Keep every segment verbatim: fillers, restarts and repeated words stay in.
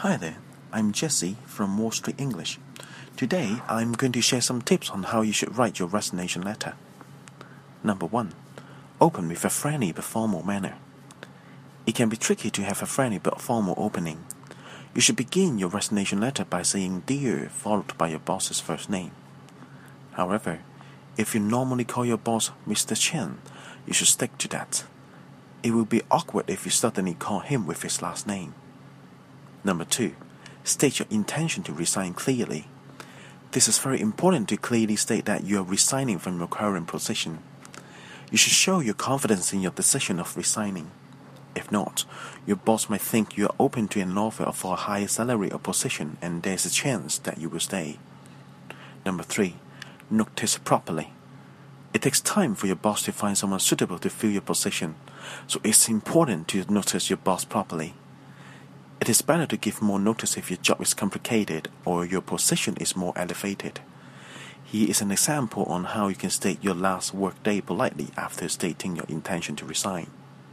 Hi there, I'm Jesse from Wall Street English. Today, I'm going to share some tips on how you should write your resignation letter. Number one, open with a friendly but formal manner. It can be tricky to have a friendly but formal opening. You should begin your resignation letter by saying "Dear" followed by your boss's first name. However, if you normally call your boss Mister Chen, you should stick to that. It will be awkward if you suddenly call him with his last name. Number two, state your intention to resign clearly. This is very important to clearly state that you are resigning from your current position. You should show your confidence in your decision of resigning. If not, your boss might think you are open to an offer for a higher salary or position, and there's a chance that you will stay. Number three, notice properly. It takes time for your boss to find someone suitable to fill your position, so it's important to notice your boss properly. It is better to give more notice if your job is complicated or your position is more elevated. Here is an example on how you can state your last work day politely after stating your intention to resign.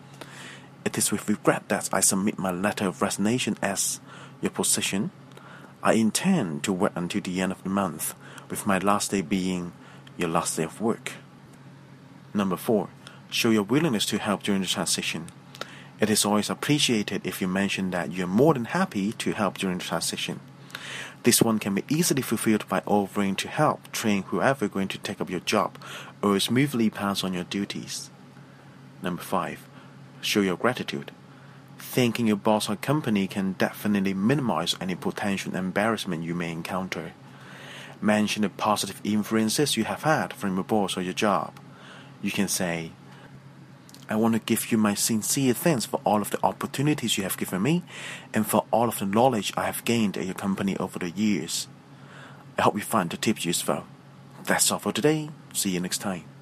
It is with regret that I submit my letter of resignation as your position. I intend to work until the end of the month, with my last day being your last day of work. Number four, show your willingness to help during the transition. It is always appreciated if you mention that you are more than happy to help during the transition. This one can be easily fulfilled by offering to help train whoever is going to take up your job or smoothly pass on your duties. Number five, show your gratitude. Thanking your boss or company can definitely minimize any potential embarrassment you may encounter. Mention the positive influences you have had from your boss or your job. You can say, "I want to give you my sincere thanks for all of the opportunities you have given me and for all of the knowledge I have gained at your company over the years." I hope you find the tips useful. That's all for today. See you next time.